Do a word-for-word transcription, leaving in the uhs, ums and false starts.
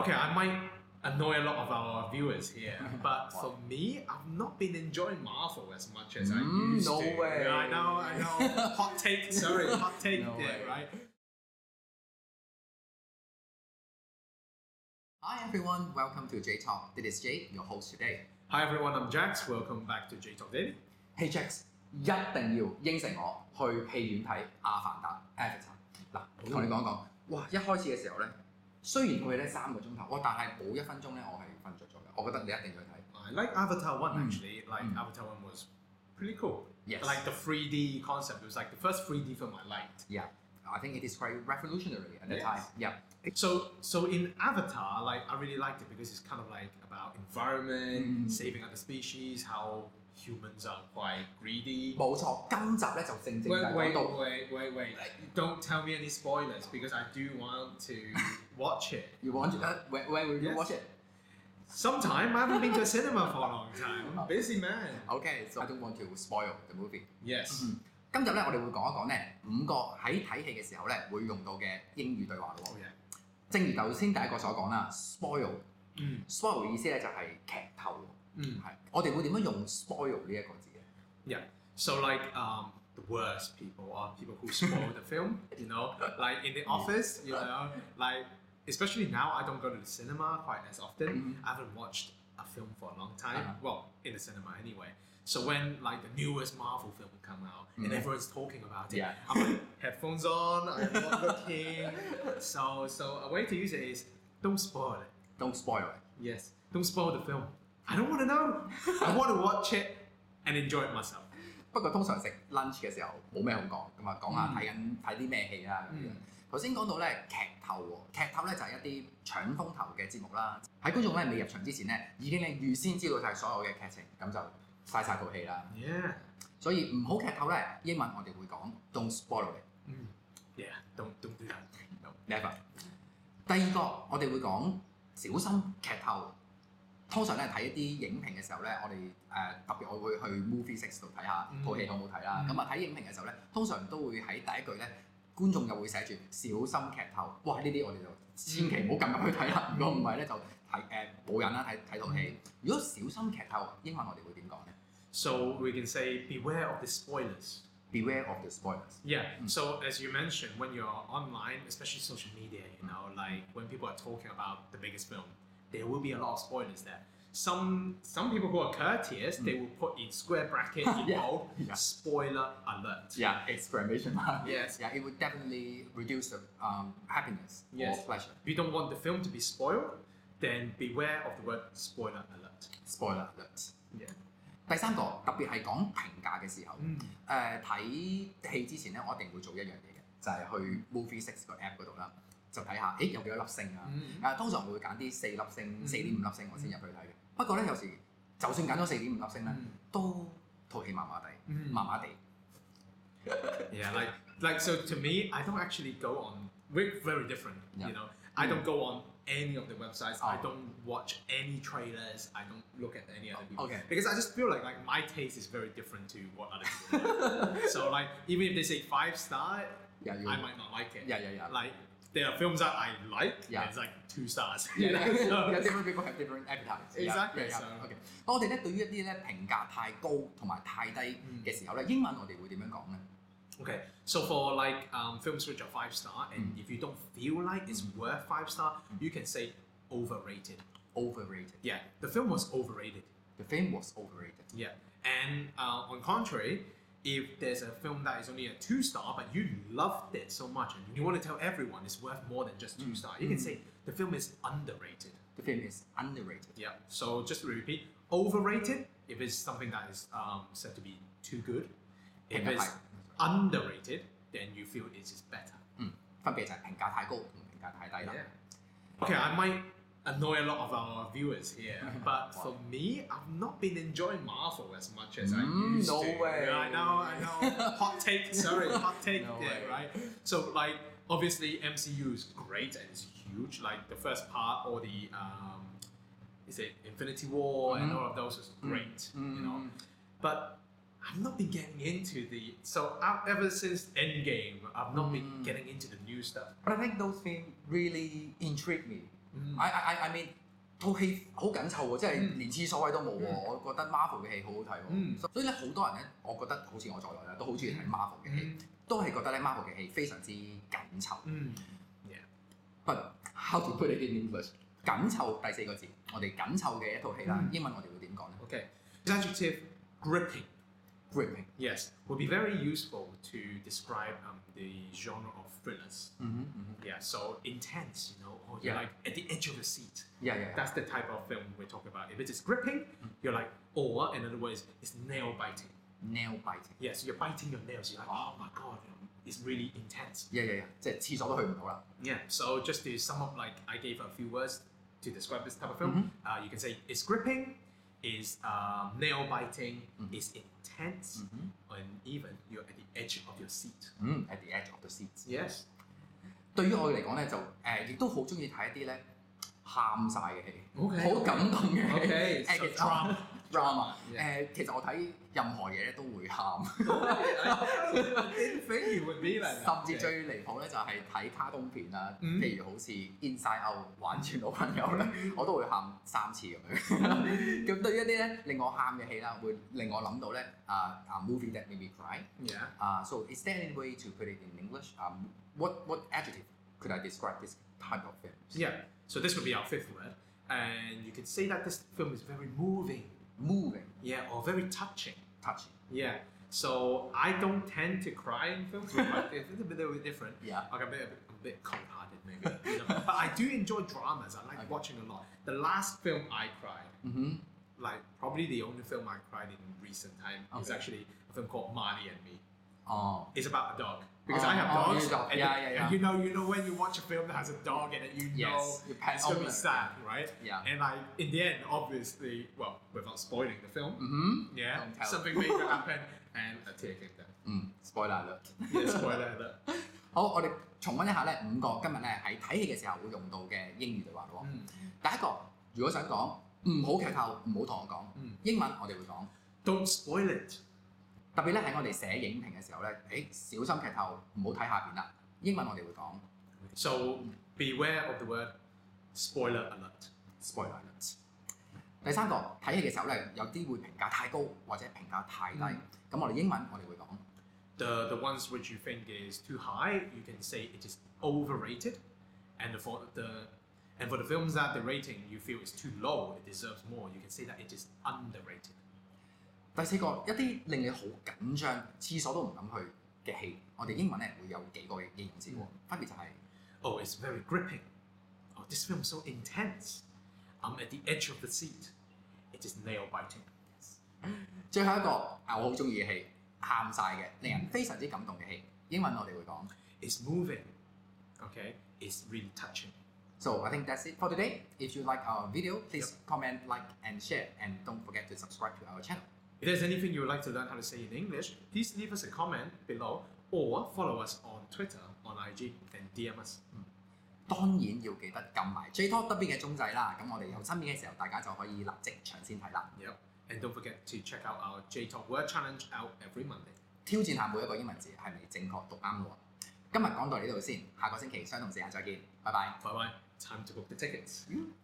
Okay, I might annoy a lot of our viewers here, but for me, I've not been enjoying Marvel as much as mm, I used no to. No way. I know, I know. Hot take, sorry, hot take no there, way. right? Hi everyone, welcome to J Talk. This is Jay, your host today. Hi everyone, I'm Jax. Welcome back to J Talk Daily. Hey Jax, 一定要應承我去戲院睇《阿凡達》Avatar。嗱，同你講講，哇！一開始嘅時候咧，雖然佢咧三個鐘頭，哇！但係冇一分鐘咧，我係瞓着咗嘅。我覺得你一定要睇。 I like Avatar one actually. Mm. Like mm. Avatar one was pretty cool. Yes. Like the three D concept. It was like the first three D film I liked. Yeah, I think it is quite revolutionary at the Yes. time. Yeah. So, so in Avatar, like I really liked it because it's kind of like about environment, Mm. saving other species, how humans are quite greedy. 冇錯，今集咧就正正就 Wait, 係 wait, 講到 wait, wait, wait! Don't tell me any spoilers because I do want to watch it. You want to, uh, when, when will you Yes. watch it? Sometime. I haven't been to a cinema for a long time. I'm busy man. Okay, so I don't want to spoil the movie. Yes. 嗯今日咧，我哋會講一講咧五個喺睇戲嘅時候咧會用到嘅英語對話咯。 Oh yeah. 正如頭先第一個所講啦 ，spoil。 嗯 spoil 嘅意思咧就係劇透。 嗯係，我哋會點樣用 spoil 呢一個字嘅 Yeah. So like um, the worst people are people who spoil the film. You know, like in the office. You know, like especially now I don't go to the cinema quite as often. Mhm. I haven't watched a film for a long time. Uh-huh. Well, in the cinema anyway. So when like the newest Marvel film come out and Mhm. everyone's talking about it, Yeah. I'm like headphones on. I'm not looking. So so a way to use it is don't spoil it. Don't spoil it。 Yes, don't spoil the film. I don't want to know. I want to watch it and enjoy it myself. 不過通常食 lunch 嘅時候冇咩好講，咁啊講下嗯睇緊睇啲咩戲啦咁樣。 嗯頭先講到咧劇透喎，劇透咧就係一啲搶風頭嘅節目啦。喺觀眾咧未入場之前咧，已經咧預先知道晒所有嘅劇情，咁就嘥晒套戲啦。 Yeah. 所以唔好劇透咧，英文我哋會講 don't spoil it。 Mm. Yeah, don't don't do that. No. Never。第二個我哋會講小心劇透。通常咧睇一啲影評嘅時候咧，我哋誒、呃、特別我會去 Movie Six 度睇下套戲好唔好睇啦。 嗯咁啊睇影評嘅時候咧，通常都會喺第一句咧，觀眾就會寫住小心劇透。哇！呢啲我哋就千祈唔好撳入去睇啦。如果唔係咧就睇誒冇癮啦，睇睇套戲。如果小心劇透，英文我哋會點講咧 So we can say beware of the spoilers. ？Beware of the spoilers。 Yeah. Mm. So as you mentioned, when you're online, especially social media, you know, like when people are talking about the biggest film, there will be a lot of spoilers there. Some some people who are courteous, they will put in square bracket in Yeah. bold, Yeah. spoiler alert. Yeah, exclamation mark. Yes. Yeah, it would definitely reduce the um, happiness Yes. or pleasure. If you don't want the film to be spoiled, then beware of the word spoiler alert. Spoiler alert。 Yeah. 第三個特別係講評價嘅時候，誒、 嗯睇戲之前咧，我一定會做一樣嘢嘅，就係、去 Movie Six 個 app 嗰度啦，就睇下，誒有幾多粒星啊？ 嗯誒、通常會揀啲四粒星、 嗯四點五粒星我先入去睇嘅。不過咧，有時就算揀咗四點五粒星咧， 嗯都套戲麻麻地， 嗯麻麻地。 Yeah, like like so to me, I don't actually go on. We're very different, Yeah. you know. I don't go on any of the websites. I Oh. don't watch any trailers. I don't look at any other people. Okay. Because I just feel like like my taste is very different to what other people like. So like even if they say five star, Yeah, you- I might not like it. Yeah, yeah, yeah. Like there are films that I like. Yeah. And it's like two stars. Yeah, you know? yeah, So- yeah, different people have different appetites. Yeah, Exactly, yeah, yeah. so- OK，我哋咧對於一啲咧評價太高同埋太低嘅時候咧，英文我哋會點樣講咧？ Okay, so for like um, films which are five star, and Mm. if you don't feel like it's worth five star, you can say overrated. Overrated. Yeah, the film was overrated. The film was overrated. Yeah, and uh, on contrary, if there's a film that is only a two star, but you loved it so much and you want to tell everyone it's worth more than just two star, you can say the film is underrated. The film is underrated. Yeah. So just to repeat, overrated if it's something that is um, said to be too good. If it's underrated, then you feel it is better. 嗯，分別就係評價太高同評價太低啦。 Yeah. Okay, I might annoy a lot of our viewers here, but for me, I've not been enjoying Marvel as much as I Mm, used no to. way. I know, I know. Hot take, sorry, hot take No there, way. right? So like, obviously M C U is great and it's huge. Like the first part, or the um, is it Infinity War and Mhm. all of those is great, you know. Mm. But I've not been getting into the so out ever since Endgame, I've not been Mm. getting into the new stuff. But I think those films really intrigue me. I I I mean 套戲好緊湊喎，即係連廁所位都冇喎。我覺得 Marvel 嘅戲好好睇喎。所以咧好多人咧，我覺得好似我在內啦，都好中意睇 Marvel 嘅戲，都係覺得咧 Marvel 嘅戲非常之緊湊。嗯 But how to put it in English？ 緊湊第四個字，我哋緊湊嘅一套戲啦，英文我哋會點講咧 ？Okay, the adjective gripping. Gripping. Yes, will be very useful to describe um, the genre of thrillers. Mm-hmm, mm-hmm. Yeah, so intense, you know, or yeah. you're like at the edge of the seat. Yeah, yeah. That's the type of film we're talking about. If it is gripping, mm-hmm. you're like, or in other words, it's nail biting. Nail biting. Yes, you're biting your nails. You're like, oh my god, it's really intense. Yeah, yeah, yeah. 即係廁所都去唔到啦。 Yeah. So just to sum up, like I gave a few words to describe this type of film. Mm-hmm. Uh, you can say it's gripping. Is uh, nail biting, mm-hmm. is intense, mm-hmm. and even you're at the edge of your seat. Mm, at the edge of the seat. Yes. 對於我嚟講咧，就誒亦都好中意睇一啲咧喊晒嘅戲，好 Okay. 感動嘅戲。 Okay. So drama. drama. 誒，其實我睇任何嘢咧都會喊。 I didn't think you would be like that. 甚至最離譜咧就係睇卡通片啦，譬如好似 Inside Out 玩轉老朋友咧，我都會喊三次咁樣。咁對於一啲咧令我喊嘅戲啦，會令我諗到咧啊啊 movie that made me cry. Yeah. 啊 so is there any way to put it in English? Um, what what adjective could I describe this type of film? Yeah. So this would be our fifth word, and you could say that this film is very moving. Moving. Yeah, or very touching. Touching. Yeah. So I don't tend to cry in films. We're quite, it's a bit, a bit different. Yeah. Like I'm a bit, a bit cold-hearted maybe. You know? But I do enjoy dramas. I like okay. watching a lot. The last film I cried, mm-hmm. like probably the only film I cried in recent time, okay. is actually a film called Marley and Me. Oh. It's about a dog. Because oh, I have oh, dogs. Dog. And, yeah, yeah, yeah. and you know, you know when you watch a film that has a dog in it, you yes. know it's gonna be sad, right? Yeah. And like in the end, obviously, well, without spoiling the film, mm-hmm. yeah, something major happened and a tear came down. 嗯 ，spoiler alert。 Yeah, spoiler alert。 好，我哋重溫一下咧五個今日咧喺睇戲嘅時候會用到嘅英語對話咯。嗯。第一個，如果想講唔好劇透，唔好同我講。嗯。英文我哋會講 Don't spoil it。 特別咧喺我哋寫影評嘅時候咧，誒小心劇透，唔好睇下邊啦。英文我哋會講 So beware of the word spoiler alert. Spoiler alert. 第三個睇戲嘅時候咧，有啲會評價太高或者評價太低。咁、嗯、我哋英文我哋會講 The the ones which you think is too high, you can say it is overrated, and for the and for the films that the rating you feel is too low, it deserves more, you can say that it is underrated. 第四個一啲令你好緊張、廁所都唔敢去嘅戲，我哋英文咧會有幾個嘅形容詞喎，分別就係、是、 Oh, it's very gripping. Oh, this film is so intense. I'm at the edge of the seat. It is nail biting. Yes. 最後一個我好中意嘅戲，喊晒嘅，令人非常之感動嘅戲，英文我哋會講 It's moving. Okay, it's really touching. So I think that's it for today. If you like our video, please yep. comment, like, and share, and don't forget to subscribe to our channel. If there's anything you would like to learn how to say in English, please leave us a comment below or follow us on Twitter, on I G, and D M us. 當然要記得撳埋 J Talk 側邊嘅鐘仔啦，咁我哋有新片嘅時候，大家就可以立即搶先睇啦。 Yep. And don't forget to check out our J Talk Word Challenge out every Monday. 挑戰下每一個英文字係咪正確讀啱喎。今日講到呢度先，下個星期相同時間再見，拜拜。 Bye bye. Time to book the tickets.